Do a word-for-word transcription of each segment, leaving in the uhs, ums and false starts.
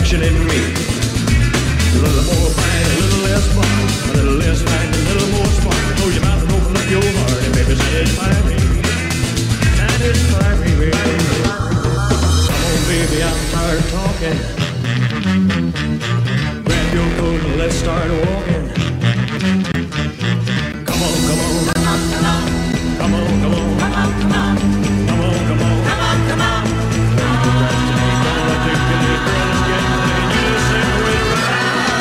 passion in me. A little more fight, a little less fun. A little less fight, a little more spark. Close your mouth and open up your heart, and baby, satisfy me. Satisfy me, baby. Come on, baby, I'm tired of talking. Grab your coat and let's start walking. Come on, come on. Come on, come on. Come on, come on. Come on, come on. Come on, come on. Come on, come on. Don't procrastinate, don't articulate, girl, let's get playing. You just say the way to ride.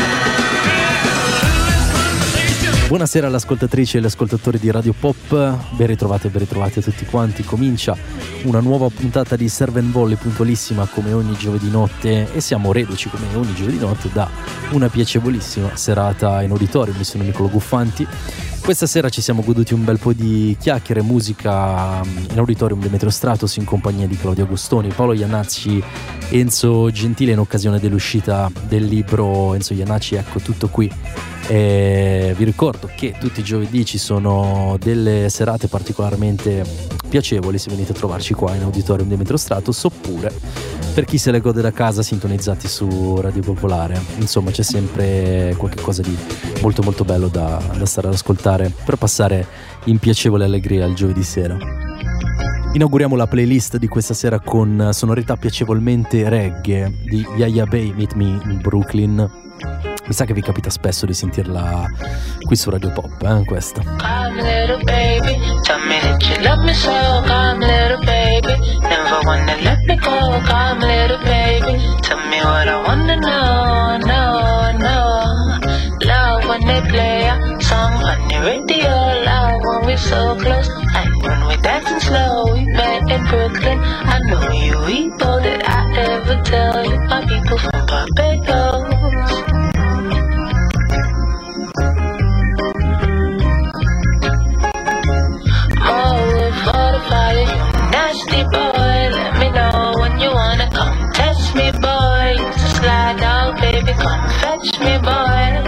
Buonasera alle ascoltatrici e agli ascoltatori di Radio Pop, ben ritrovati e ben ritrovati a tutti quanti. Comincia una nuova puntata di Serve and Volley, puntualissima come ogni giovedì notte, e siamo reduci come ogni giovedì notte da una piacevolissima serata in auditorium. Io sono Niccolò Guffanti. Questa sera ci siamo goduti un bel po' di chiacchiere e musica in auditorium di Metro Stratos in compagnia di Claudio Agostoni, Paolo Iannacci, Enzo Gentile in occasione dell'uscita del libro Enzo Iannacci, ecco tutto qui. E vi ricordo che tutti i giovedì ci sono delle serate particolarmente piacevoli se venite a trovarci qua in auditorium di Metro Stratos, oppure per chi se le gode da casa sintonizzati su Radio Popolare. Insomma, c'è sempre qualche cosa di molto molto bello da, da stare ad ascoltare per passare in piacevole allegria il giovedì sera. Inauguriamo la playlist di questa sera con sonorità piacevolmente reggae di Yaya Bay, Meet Me in Brooklyn. Mi sa che vi capita spesso di sentirla qui su Radio Pop, eh, questa. Come little baby, tell me that you love me so. Come little baby, never wanna let me go. Come little baby, tell me what I wanna know, know, know. Love when they play a song on the radio. Love when we're so close, and when we're dancing slow. We met in Brooklyn, I know you eat all that I ever tell you. My people from Barbados. Nasty boy, let me know when you wanna come test me, boy. Just slide out, baby, come fetch me, boy.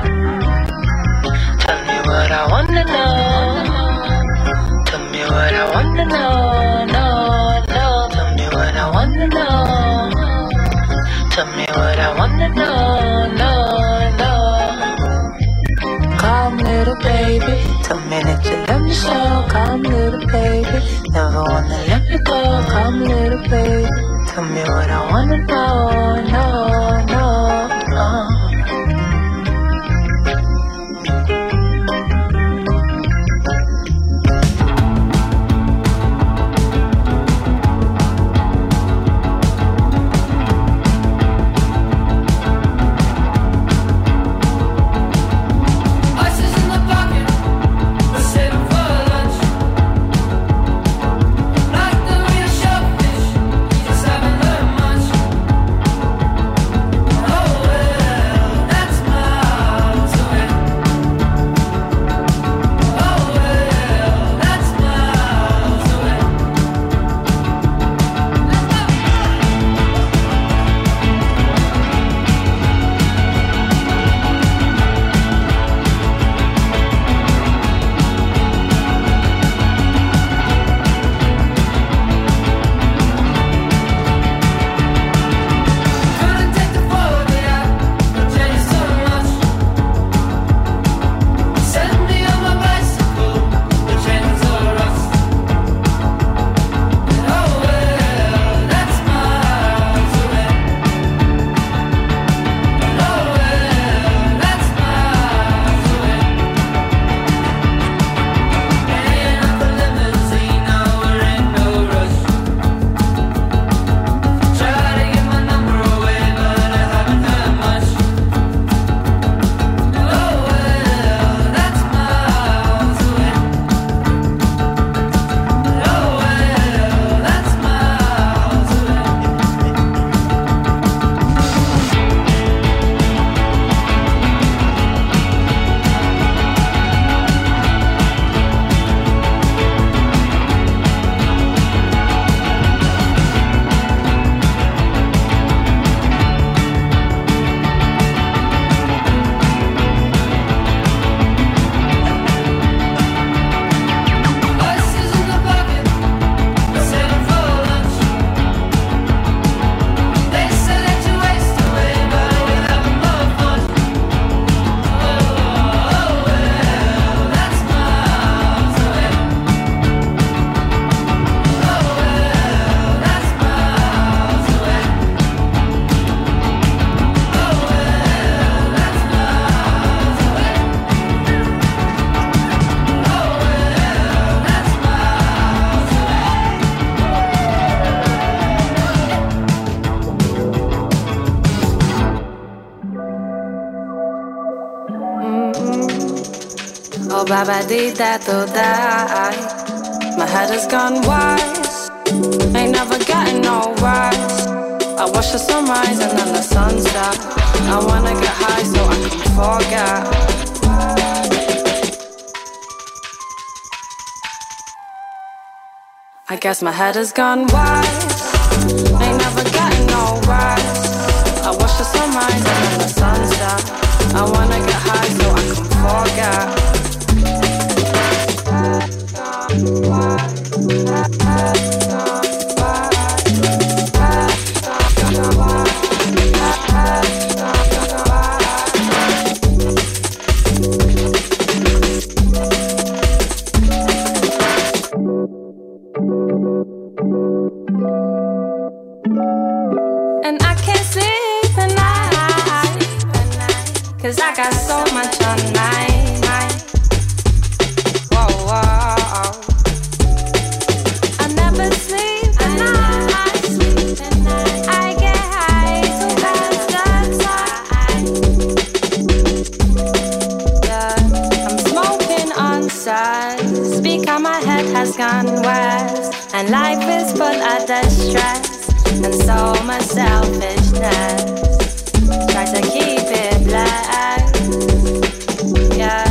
Tell me what I wanna know. Tell me what I wanna know, no, no. Tell me what I wanna know. Tell me what I wanna know, no, no. Come little baby, tell me that you love me so. Come little baby, never wanna let me go. Come little baby, tell me what I wanna know, no, no, no. Oh, baba dee da do die. My head has gone wise. Ain't never getting no rise. I watch the sunrise and then the sunset. I wanna get high so I can forget. I guess my head has gone wise. Ain't never getting no rise. I watch the sunrise and then the sunset. I wanna get high so I can forget. And I can't sleep at night, 'cause I got so much on night. Whoa, whoa. I never sleep at night. I get high to have the time. Yeah, I'm smoking on side. Speak how my head has gone west, and life is full of distress. And so much selfishness. Try to keep it black. Yeah,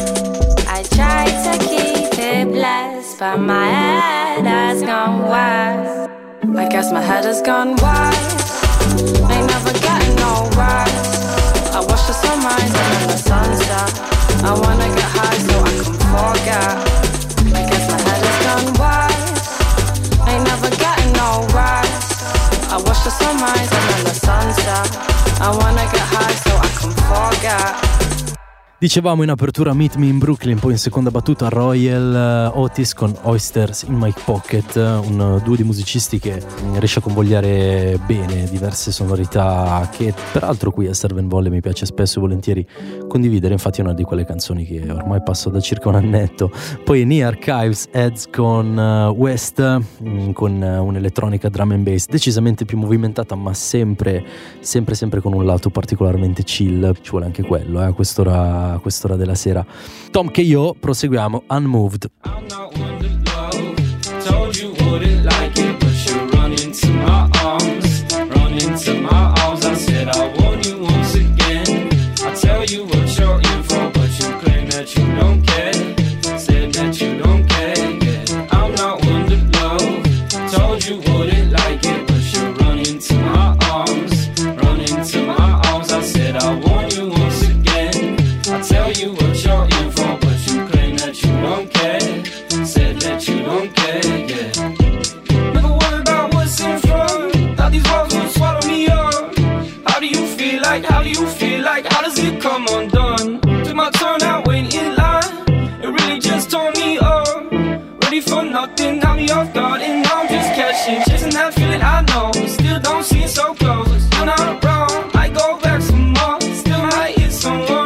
I try to keep it blessed, but my head has gone west. I guess my head has gone wise. Ain't never getting no rise. I watch the sunrise and then the sunset. I wanna get high so I can forget. I guess my head has gone wise. Ain't never getting no rise. I watch the sunrise and then the sunset. I wanna get high so I can forget. Dicevamo in apertura Meet Me in Brooklyn, poi in seconda battuta Royal Otis con Oysters in My Pocket, un duo di musicisti che riesce a convogliare bene diverse sonorità che peraltro qui a Serve and Volley mi piace spesso e volentieri condividere, infatti è una di quelle canzoni che ormai passo da circa un annetto. Poi Knee Archives Heads con West, con un'elettronica drum and bass decisamente più movimentata ma sempre sempre sempre con un lato particolarmente chill, ci vuole anche quello eh, a quest'ora a quest'ora della sera. Tom K O, proseguiamo Unmoved. I'm not one to love. Told you wouldn't like it, but you run into my arms. Run into my arms. I said I want you once again. I tell you what you're in for, but you claim that you don't care. Said that you don't care. Yeah. I'm not one to love. Told you wouldn't like it, but you run into my arms. Run into my arms. I said I want you once again. I tell you what you're in for, but you claim that you don't care. Said that you don't care, yeah. Never worry about what's in front. Thought these walls would swallow me up. How do you feel like, how do you feel like, how does it come undone? Took my turn out waiting in line. It really just tore me up. Ready for nothing, now me off guard. And now I'm just catching, chasing that feeling I know. Still don't see it so close. You're not wrong, might go back some more. Still might hit someone.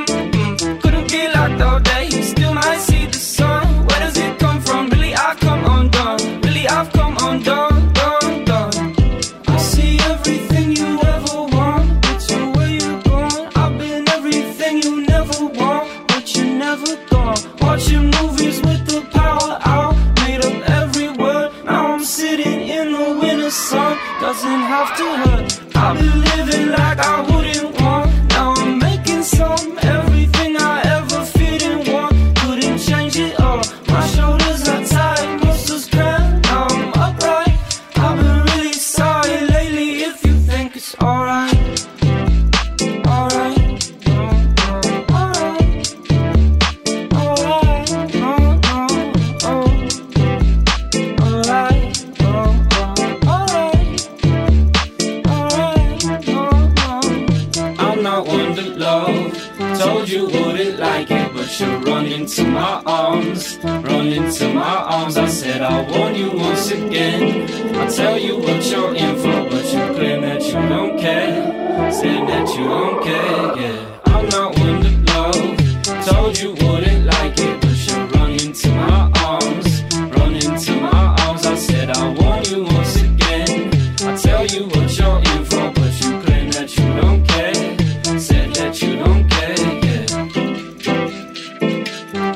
All day, still might see the sun. Where does it come from? Really, I've come undone. Really, I've come undone, done, done. I see everything you ever want, but you're where you're going. I've been everything you never want, but you're never gone. Watching movies with the power out, made up every word. Now I'm sitting in the winter sun. Doesn't have to hurt. I've been living like I wouldn't want. Now I'm making some everything I ever change it up. My shoulders are tight, muscles cramped. Now I'm upright. I've been really sorry lately. If you think it's alright, alright, no, no, alright, alright, no, no, oh, alright, oh, oh, alright, alright, no, no. I'm not one to love. Told you wouldn't like it, but you run into my arms, run into my arms. I said I want you once again. I tell you what you're in for, but you claim that you don't care. Said that you don't care, yeah. I'm not one to love. Told you wouldn't like it, but you run into my arms, run into my arms. I said I want you once again. I tell you what you're in for, but you claim that you don't care. Said that you don't care.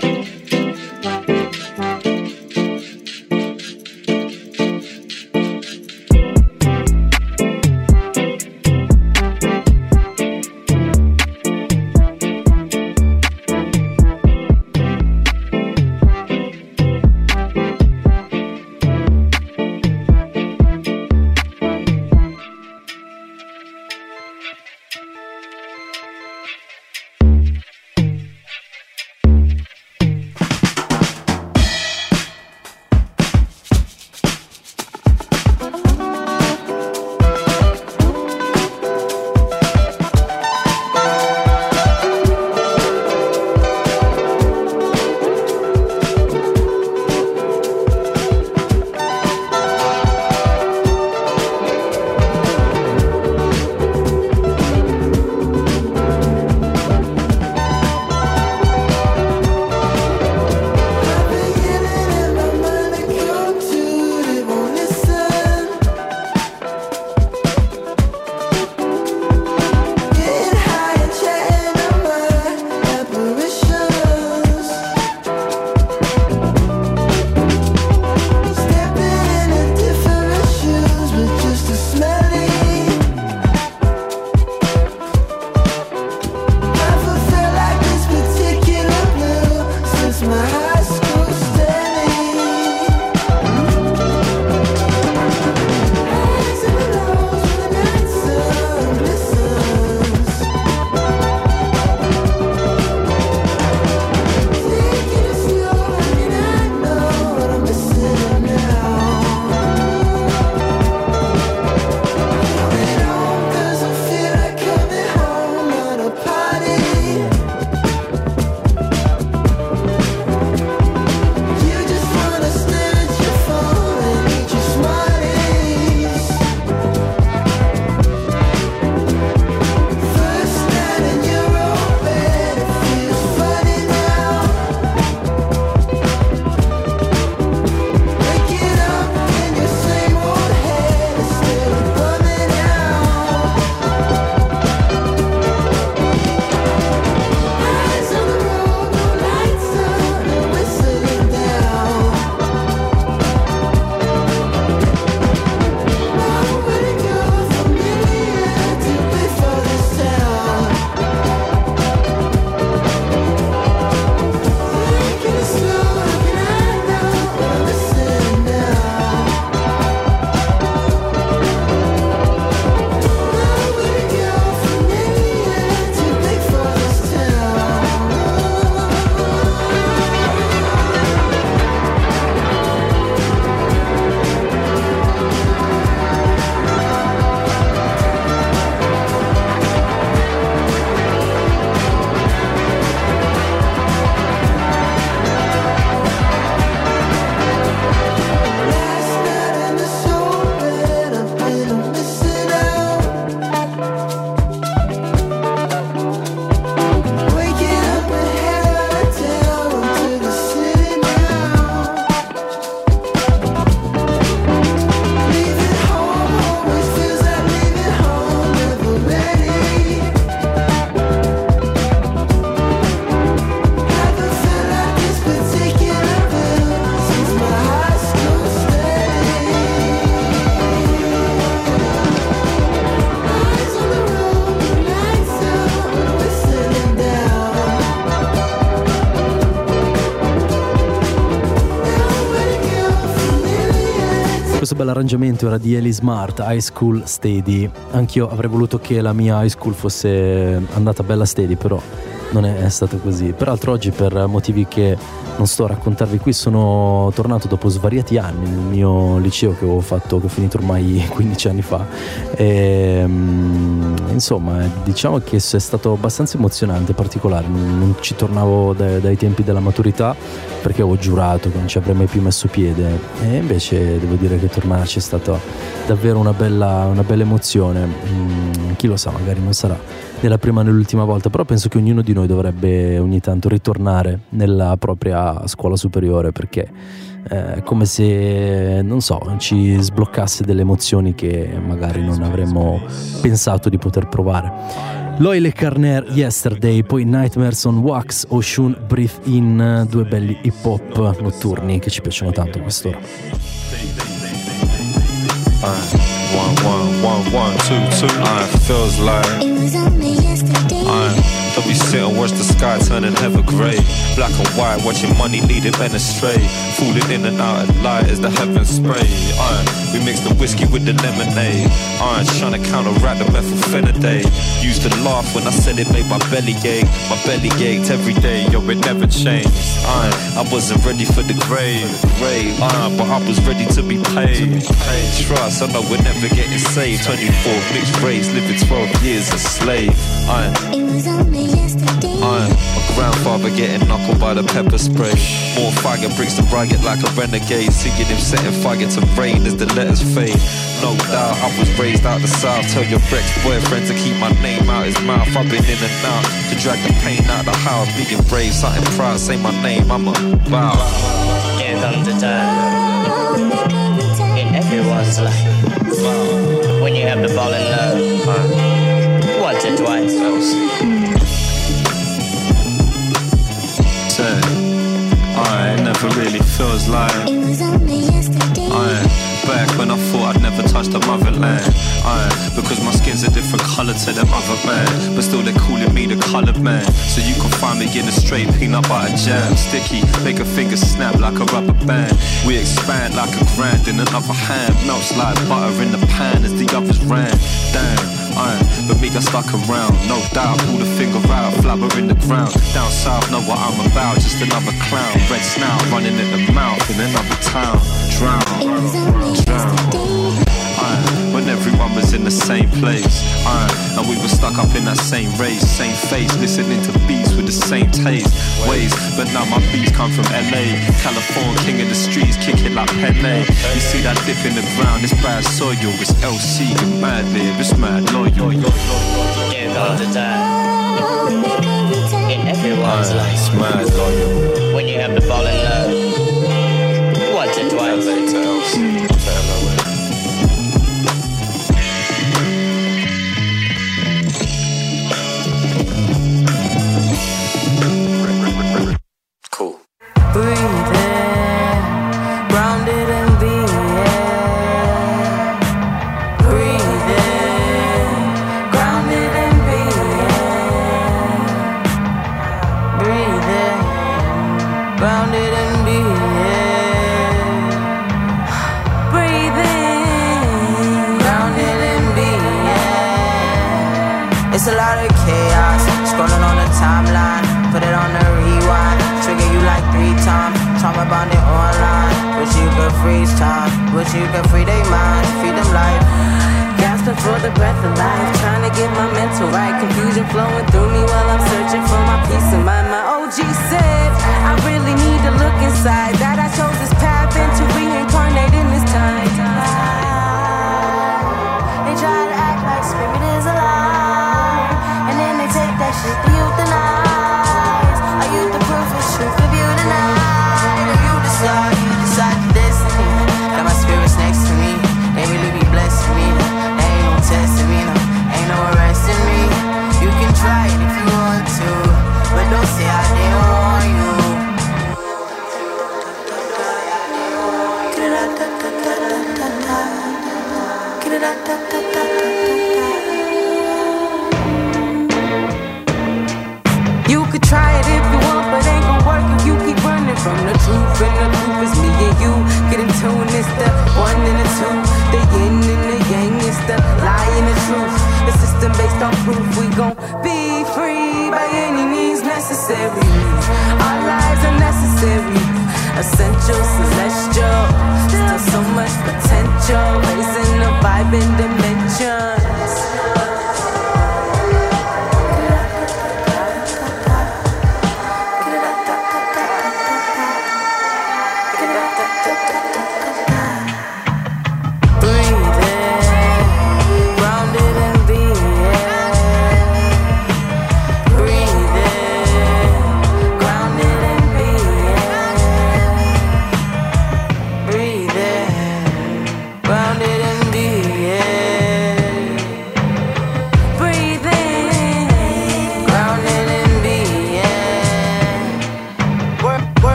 bell'arrangiamento era di Eli Smart, High School Steady. Anch'io avrei voluto che la mia high school fosse andata bella steady, però non è stato così. Peraltro oggi, per motivi che non sto a raccontarvi qui, sono tornato dopo svariati anni nel mio liceo che ho fatto, che ho finito ormai quindici anni fa, e, insomma, diciamo che è stato abbastanza emozionante, particolare. Non, non ci tornavo dai, dai tempi della maturità, perché avevo giurato che non ci avrei mai più messo piede, e invece devo dire che tornarci è stata davvero una bella, una bella emozione. Mm, chi lo sa, magari non sarà né la prima né l'ultima volta, però penso che ognuno di noi dovrebbe ogni tanto ritornare nella propria scuola superiore, perché è come se, non so, ci sbloccasse delle emozioni che magari non avremmo pensato di poter provare. Loyle Carner, Yesterday, poi Nightmares on Wax, Oshun, Breathe In, due belli hip hop notturni che ci piacciono tanto a quest'ora. Uh, one, one, one, one, two, two. Uh, feels like It was only yesterday. uh, don't be sit and watch the sky turning heather grey. Black and white, watching money leading men astray. Falling in and out of light as the heavens spray. Uh, we mix the whiskey with the lemonade. Uh, trying to counteract the methylphenidate. Used to laugh when I said it made my belly ache. My belly ached every day, yo, it never changed. Uh, I wasn't ready for the grave, grave. Uh, but I was ready to be paid. Trust, I know we're never getting saved. twenty-four mixed race, living twelve years a slave. Uh, It was only yesterday. Uh, my grandfather getting knuckled by the pepper spray. More fire brings the riot like a renegade. Singing him setting fire to rain as the letters fade. No doubt I was raised out the south. Tell your ex-boyfriend to keep my name out his mouth. I've been in and out to drag the pain out the house. Being brave, something proud, say my name, I'm a bow. Here comes the time in everyone's life when you have to fall in love once or twice. Say, I never really feels like It was only yesterday. I back when I thought I'd never touch the motherland. I because my skin's a different colour to them other man, but still they're calling me the coloured man. So you can find me in a straight peanut butter jam, sticky, make a finger snap like a rubber band. We expand like a grand in another hand, melts like butter in the pan as the others ran. Damn. Uh, but me got stuck around, no doubt. Pull the finger out, flabber in the ground. Down south, know what I'm about, just another clown. Red snout running in the mouth in another town. Drown, It was only drown. yesterday. Uh, when everyone was in the same place, uh, and we were stuck up in that same race, same face, listening to beats with the same taste, ways. But now my beats come from L A, California, king of the streets, kicking like Pele. You see that dip in the ground, it's bad soil, it's L C, you mad live, it's mad loyal. Here comes the time in everyone's Uh, life it's mad loyal. when you have to fall in love once or twice. L A to L C, to L O A. Cool. Breathing, grounded and being. Breathing, grounded and being. Breathing, grounded and being. Breathing, grounded and being. It's a lot of chaos, scrolling on the timeline. Put it on the rewind, trigger you like three times. Trauma bonded online, wish you could freeze time. Wish you could free their minds, free them life. Gasping for the breath of life, trying to get my mental right. Confusion flowing through me while I'm searching for my peace of mind. My O G said, I really need to look inside. That I chose this path and to reincarnate in this time. They try to act like spirit is alive, and then they take that shit to euthanize. Are you the proof it's truth of you tonight? Or you decide, you decide your destiny. Got my spirits next to me, they really be blessing me. They ain't no testing me, no, ain't no arresting me. You can try it if you want to, but don't say I didn't warn you. my proof. We gon' be free by any means necessary. Our lives are necessary, essential, celestial. Still so much potential, raising the vibe in dimensions.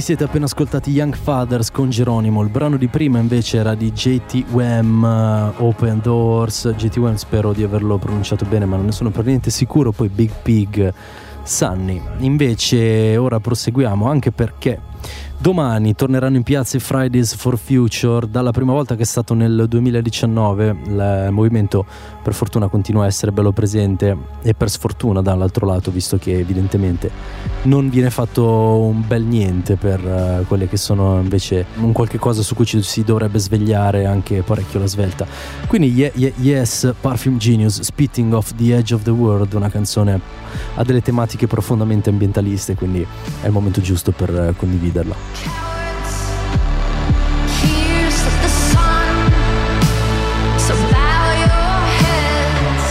siete appena ascoltati Young Fathers con Geronimo. Il brano di prima invece era di J T Wham, uh, Open Doors. J T Wham, spero di averlo pronunciato bene, ma non ne sono per niente sicuro. Poi Big Pig, Sunny. Invece ora proseguiamo, anche perché domani torneranno in piazza i Fridays for Future. Dalla prima volta che è stato nel duemiladiciannove, il movimento per fortuna continua a essere bello presente, e per sfortuna dall'altro lato, visto che evidentemente non viene fatto un bel niente per uh, quelle che sono invece un qualche cosa su cui ci si dovrebbe svegliare anche parecchio la svelta. Quindi yeah, yeah, Yes, Perfume Genius, Spitting Off the Edge of the World, una canzone a delle tematiche profondamente ambientaliste, quindi è il momento giusto per uh, condividerla. Here's the sun, so bow your heads.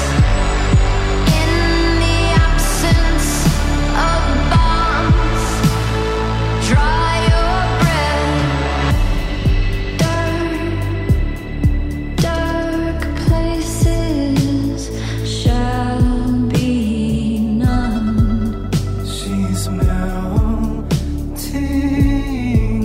In the absence of bombs, dry your breath. Dark, dark places shall be none. She's melting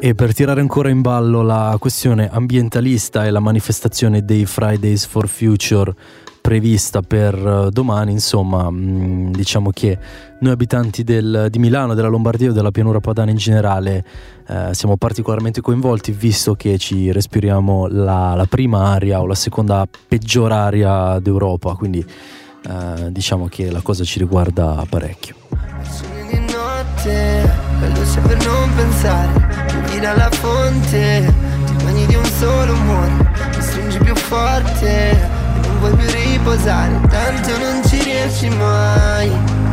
E per tirare ancora in ballo la questione ambientalista e la manifestazione dei Fridays for Future prevista per domani, insomma, mh, diciamo che noi abitanti del, di Milano, della Lombardia o della pianura padana in generale eh, siamo particolarmente coinvolti, visto che ci respiriamo la, la prima aria o la seconda peggior aria d'Europa, quindi eh, diciamo che la cosa ci riguarda parecchio. Di notte, la luce per non pensare, bevi dalla fonte, ti bagni di un solo umore, mi stringi più forte e non vuoi più riposare, tanto non ci riesci mai.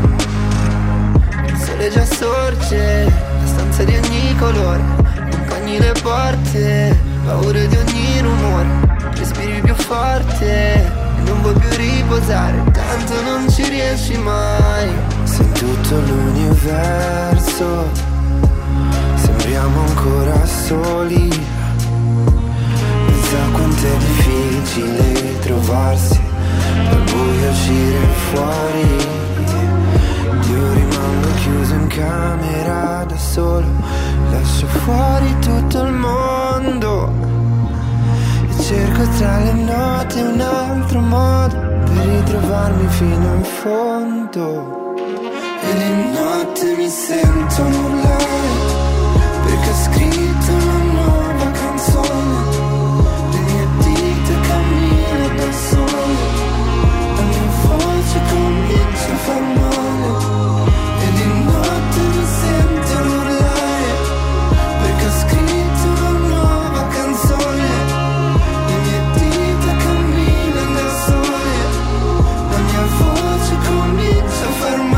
Il sole già sorge, la stanza di ogni colore, accompagni le porte, paure di ogni rumore, respiri più forte e non vuoi più riposare, tanto non ci riesci mai. Se in tutto l'universo sembriamo ancora soli, pensa quanto è difficile trovarsi, dal buio uscire fuori. Io rimango chiuso in camera da solo, lascio fuori tutto il mondo e cerco tra le note un altro modo per ritrovarmi fino in fondo. E di notte mi sento urlare perché ho scritto una nuova canzone, le mie dita camminano da sole, la mia voce comincia a far male. E di notte mi sento urlare perché ho scritto una nuova canzone, le mie dita camminano da sole, la mia voce comincia a far male.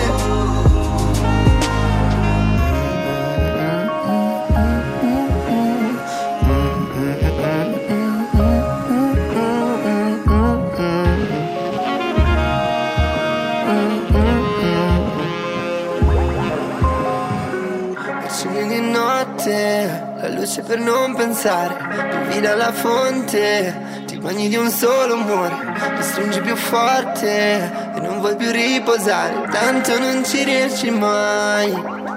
La luce per non pensare, bevi dalla fonte, ti bagni di un solo umore, mi stringi più forte e non vuoi più riposare, tanto non ci riesci mai.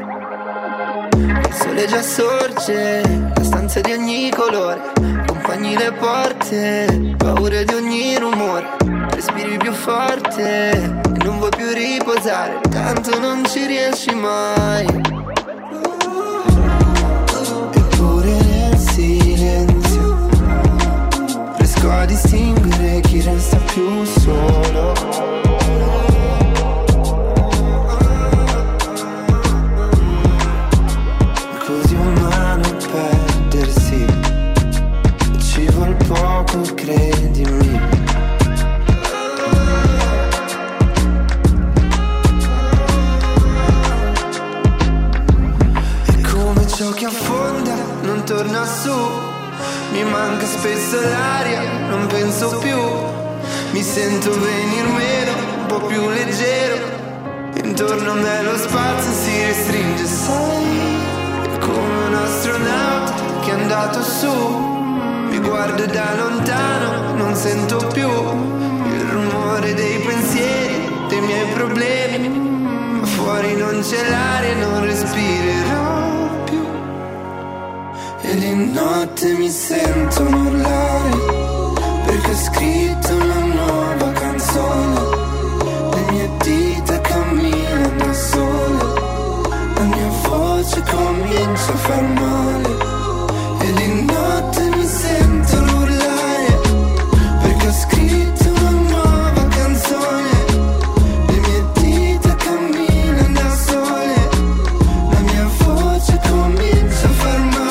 Il sole già sorge, la stanza di ogni colore, accompagni le porte, paure di ogni rumore, respiri più forte e non vuoi più riposare, tanto non ci riesci mai. Silenzio, riesco a distinguere chi resta più solo. Così umano perdersi, ci vuol poco, credimi. È come ciò che affonda, non torna su, mi manca spesso l'aria, non penso più, mi sento venir meno, un po' più leggero, intorno a me lo spazio si restringe, sai, è come un astronauta che è andato su, mi guardo da lontano, non sento più il rumore dei pensieri, dei miei problemi, ma fuori non c'è l'aria, non respirerò. E di notte mi sento urlare perché ho scritto una nuova canzone, le mie dita camminano da sole, la mia voce comincia a far male. E di notte mi sento urlare perché ho scritto una nuova canzone, le mie dita camminano da sole, la mia voce comincia a far male.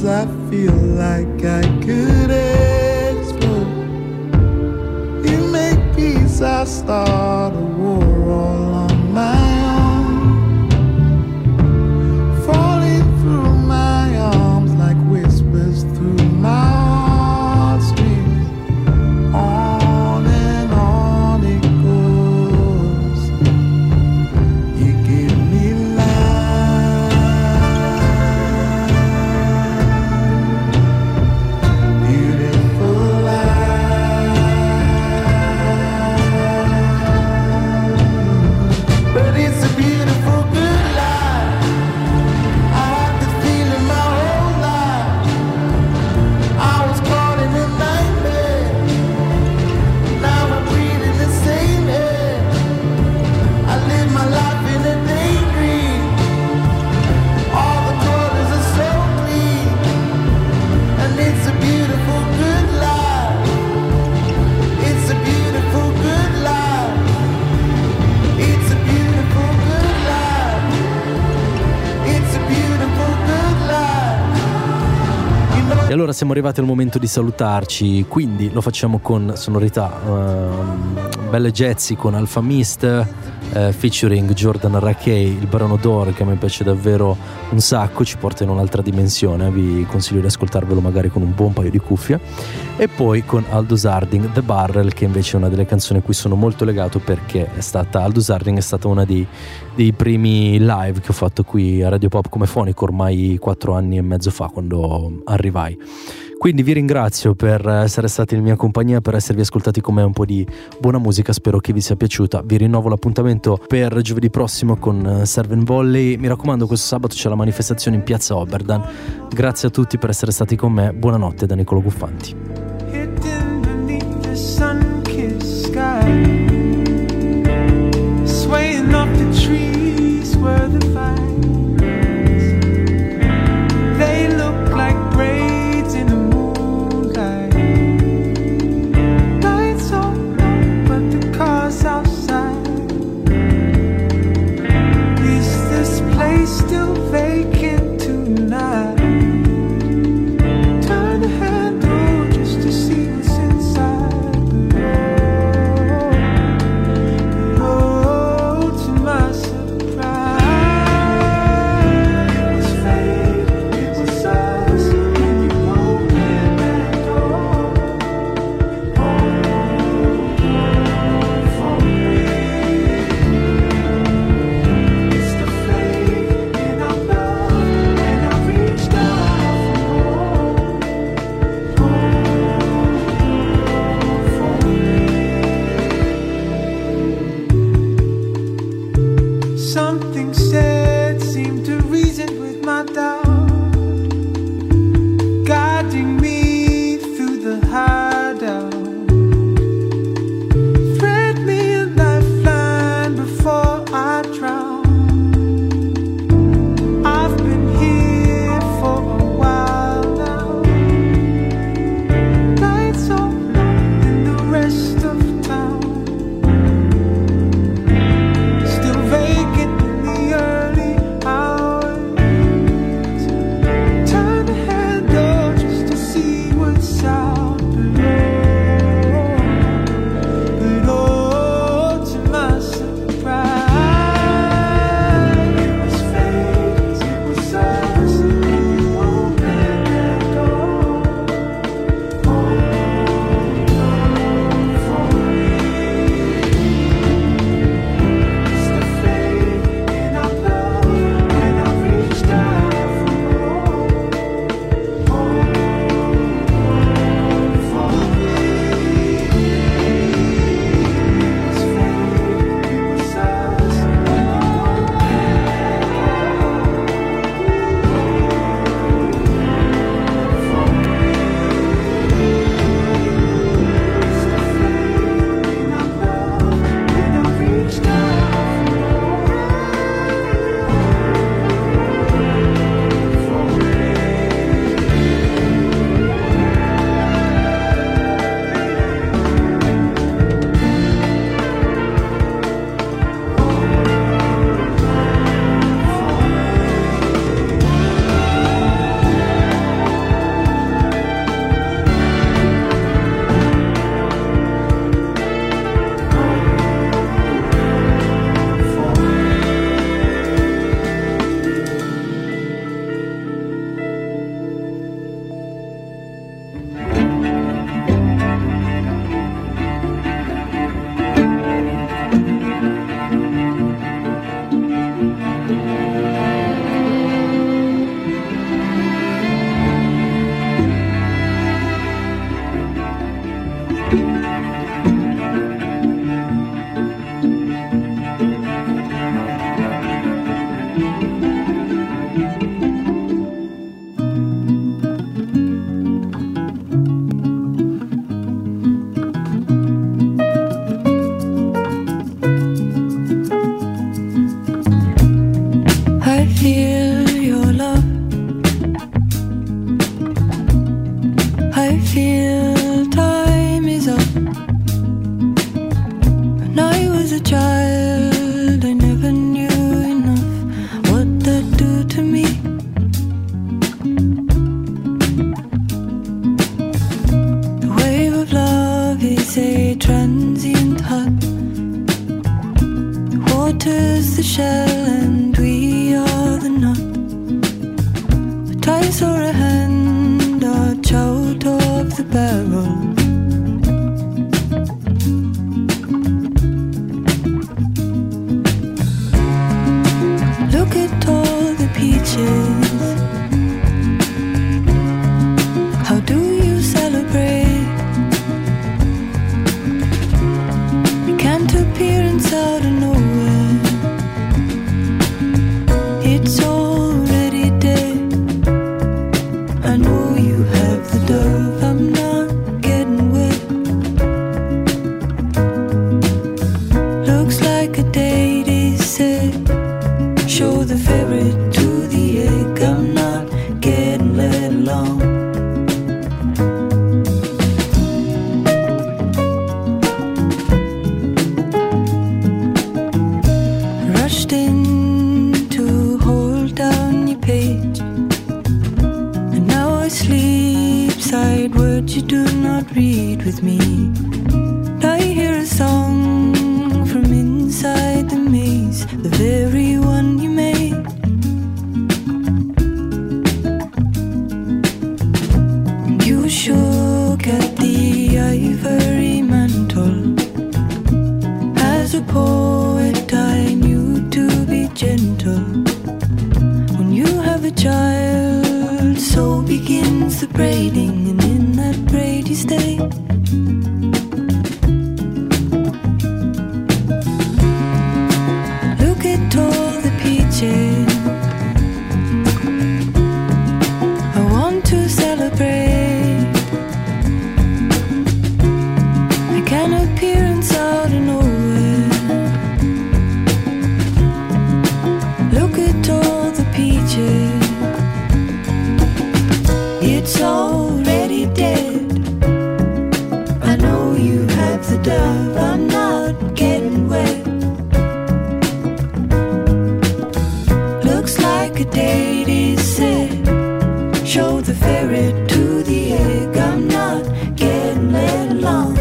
Sometimes I feel like I could explode. You make peace, I start a war all on my own. Falling through my arms like whispers through my heartstrings. On and on it goes. You give me life, beautiful life. But it's a beautiful good life. I had the feeling my whole life. I was caught in a nightmare. Now I'm breathing the same air. I live my life in a daydream. All the colors are so clean. And it's a beautiful good life. It's a beautiful good life. It's a beautiful good life. It's a beautiful good life. You know. E allora siamo arrivati al momento di salutarci, quindi lo facciamo con sonorità ehm, belle jazzy con Alpha Mist eh, featuring Jordan Rakei, il Brano d'Oro, che a me piace davvero un sacco, ci porta in un'altra dimensione, vi consiglio di ascoltarvelo magari con un buon paio di cuffie. E poi con Aldous Harding, The Barrel, che invece è una delle canzoni a cui sono molto legato, perché è stata Aldous Harding è stata una dei, dei primi live che ho fatto qui a Radio Pop come fonico ormai quattro anni e mezzo fa, quando arrivai. Quindi vi ringrazio per essere stati in mia compagnia, per esservi ascoltati con me un po' di buona musica, spero che vi sia piaciuta. Vi rinnovo l'appuntamento per giovedì prossimo con Serve and Volley. Mi raccomando, questo sabato c'è la manifestazione in piazza Oberdan. Grazie a tutti per essere stati con me, buonanotte da Niccolò Guffanti. Hidden beneath the sun-kissed sky, swaying up the trees where the vines, they look like braids in the moonlight. Lights so low, but the cars outside. Is this place still vacant tonight? Turn the handle just to see what's inside. Oh, to my surprise, fate, it was us when you opened that door. Oh, for me, it's the fate in our love, and I reached out for more. Something said seemed to reason with my doubt, guiding me through the hideout. Thread me a lifeline before I drown. I've been here for a while now. Lights so low in the rest of town, still vacant in the early Water's the shell and we are the nut. A dice or a hand are out of the barrel. Look at all the peaches. How do you celebrate? You can't appear inside of nowhere. It's already dead. I know you have the dove. I'm not getting wet. Looks like a date is set. Show the ferret to the egg. I'm not getting let along. Rushed in to hold down your page, and now I sleep side words you do not read with me. I hear a song from inside the maze, the very one you made. You shook at the ivory mantle. As a poet I knew to be gentle. When you have a child, so begins the braiding, and in that braid you stay. Look at all the peaches. I want to celebrate. I can appear inside of nowhere. Look at all the peaches. It's already dead. I know you have the dove. I'm not getting wet. Looks like a date is set. Show the ferret to the egg. I'm not getting let along.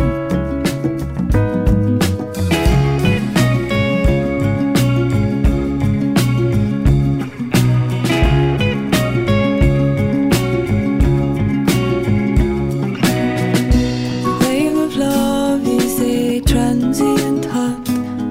The wave of love is a transient heart.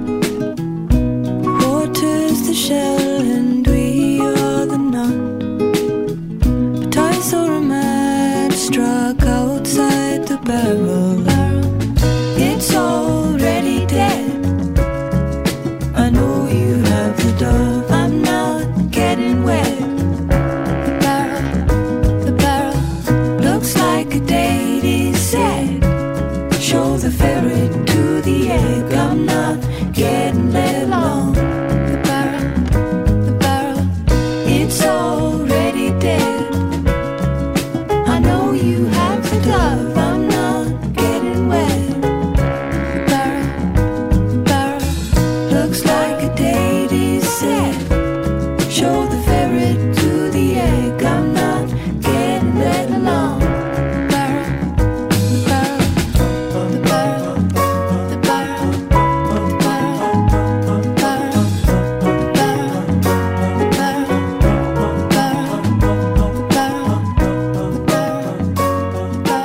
Water's the shell and we are the nut. But I saw a match struck outside the barrel. It's already dead. I know you have the dove. I'm not getting wet. The barrel, the barrel looks like a date is set. Show the ferret to the egg. I'm not getting let along. The barrel, the barrel, it's already dead. I know you have the dove. I'm not getting wet. The barrel, the barrel looks like a date is set. Show the ferret to the egg. I'm not getting let along. The barrel, the barrel, the barrel, the barrel, the barrel, the barrel, the barrel, the barrel, the barrel, the barrel.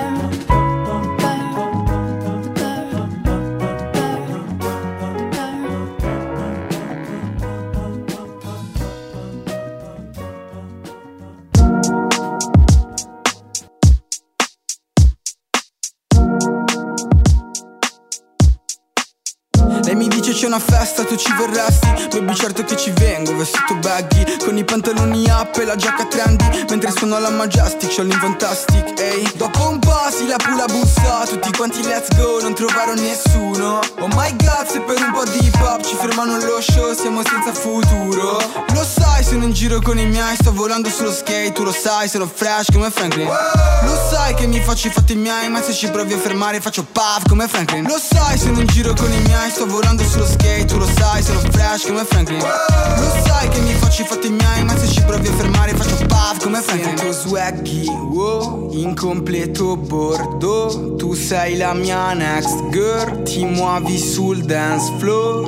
Lei mi dice c'è una festa, tu ci verresti? Baby certo che ci vengo, vestito baggy, con i pantaloni up e la giacca trendy, mentre suono alla Majestic, c'ho l'Infantastic, ehi. Dopo un po' si la pula bussa, tutti quanti let's go, non trovarono nessuno. Oh my god, se per un po' di hip hop ci fermano allo show, siamo senza futuro. Lo sai, sono in giro con i miei, sto volando sullo skate, tu lo sai, sono fresh come Franklin. Lo sai che mi faccio i fatti miei, ma se ci provi a fermare faccio puff come Franklin. Lo sai, sono in giro con i miei, sto volando sullo skate, tu lo sai, sono fresh come Franklin. Lo sai che mi faccio i fatti miei, ma se ci provi a fermare faccio puff come Franklin. Sento swaggy, wow, in completo bordo. Tu sei la mia next girl, ti muovi sul dance floor.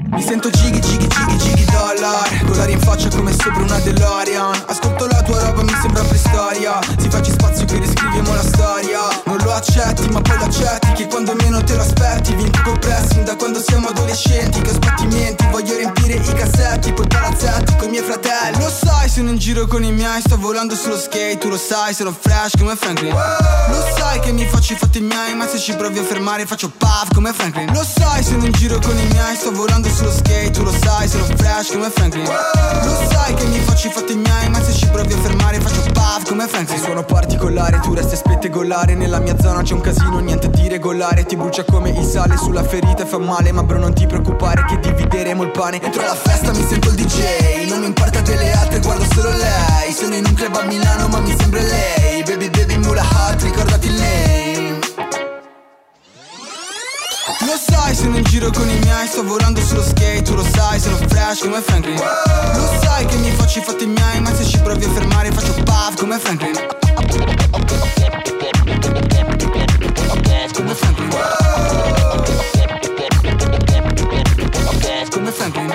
Mi sento gighi, gighi, gighi, gighi dollar. Collari in faccia come sopra una DeLorean. Ascolto la tua roba, mi sembra preistoria. Si facci spazio qui riscriviamo la storia. Non lo accetti, ma poi lo accetti, che quando meno te lo aspetti. Vinco col pressing da quando siamo adolescenti. Che ho sbattimenti, voglio riempire i cassetti. Poi palazzetti coi miei fratelli. Lo sai, sono in giro con i miei. Sto volando sullo skate, tu lo sai, sono fresh come Franklin. Lo sai che mi faccio i fatti miei, ma se ci provi a fermare faccio puff come Franklin. Lo sai, sono in giro con i miei. Sto volando sullo skate, tu lo sai, sono fresh come Franklin. Lo sai che mi faccio i fatti miei, ma se ci provi a fermare faccio puff come Franklin. Suono particolare, tu resti a spettegolare. Nella mia zona c'è un casino, niente di regolare. Ti brucia come il sale sulla ferita e fa male. Ma bro non ti preoccupare che divideremo il pane. Entro alla festa mi sento il D J. Non mi importa delle altre, guardo solo lei. Sono in un club a Milano ma mi sembra lei. Baby baby mula hot, ricordati il name. Lo sai, sono in giro con i miei. Sto volando sullo skate, tu lo sai, sono fresh come Franklin. Lo sai che mi faccio i fatti miei, ma se ci provi a fermare faccio puff come Franklin. Come Franklin. Come Franklin.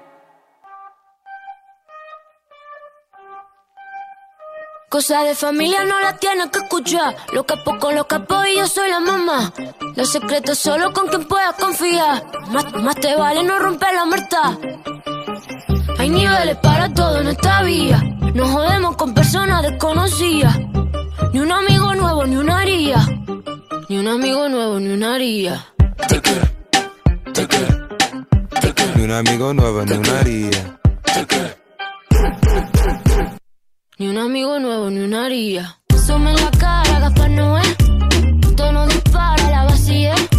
Cosa de familia no la tienes que escuchar. Los capos con los capos y yo soy la mamá. Los secretos solo con quien puedas confiar. Más, más te vale no romper la muerta. Hay niveles para todo en esta vía. No jodemos con personas desconocidas. Ni un amigo nuevo ni una haría. Ni un amigo nuevo ni una haría. Ni un amigo nuevo ni una haría. Ni un amigo nuevo, ni una haría. Zoom en la cara, Gaspar Noé. Tono dispara, la vacía.